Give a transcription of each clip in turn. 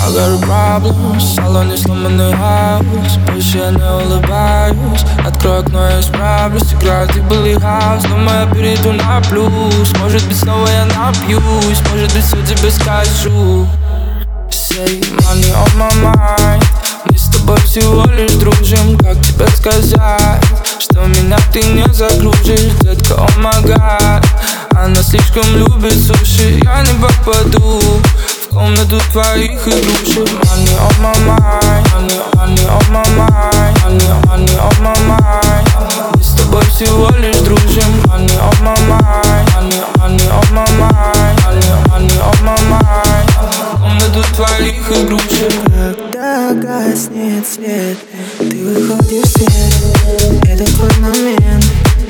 I got a problem, в салоне сломанный хаус. Больше я не улыбаюсь, открой окно, я исправлюсь. Играет и былый хаус, думаю, я перейду на плюс. Может быть, снова я напьюсь, может быть, все тебе скажу. Say money on my mind. Мы с тобой всего лишь дружим. Как тебе сказать, что меня ты не загружишь, детка, о май гад. Она слишком любит суши, я не попаду в комнату твоих игрушек. Money on my mind, money on my mind, money on my mind. Мы с тобой всего лишь дружим. Money on my mind, money on my mind, money on my mind. В комнату твоих игрушек. Когда гаснет свет, ты выходишь в свет, это твой момент.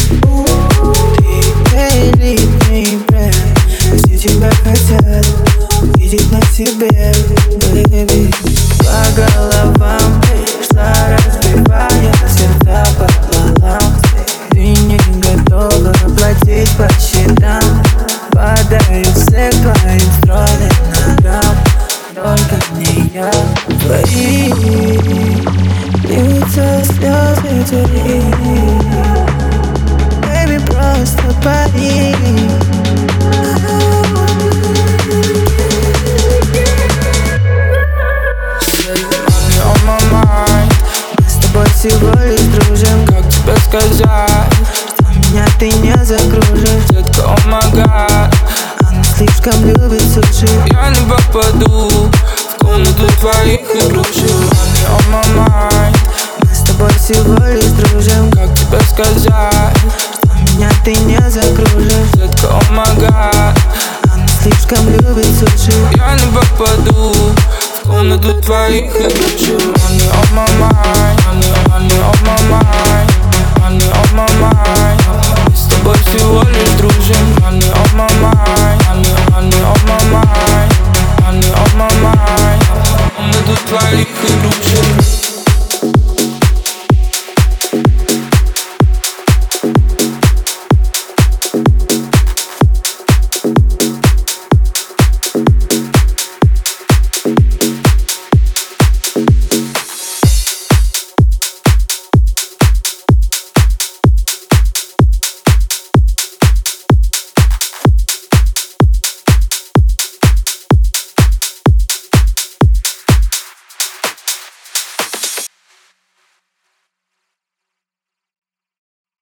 Ты элитный бренд, все тебя хотят видеть на себе, baby. По головам пришла, разбивая сердца пополам. Ты не готова платить по счетам, падаю все к твоим стройным ногам. Только не я. Твои льются слезы твои, baby, просто пари. Money on my mind. Мы с тобой всего лишь дружим. Как тебе сказать, что меня ты не загружишь, детка, о май гад. она слишком любит суши. Я не попаду в комнату твоих игрушек. Money on my mind. Мы с тобой всего лишь дружим. Как тебе сказать, что меня ты не загружишь, детка, о май гад. она слишком любит суши. Я не попаду в комнату твоих игрушек. Money on my mind, money on my mind, money on my mind. Мы с тобой всего лишь дружим. Money on my mind, money on my mind.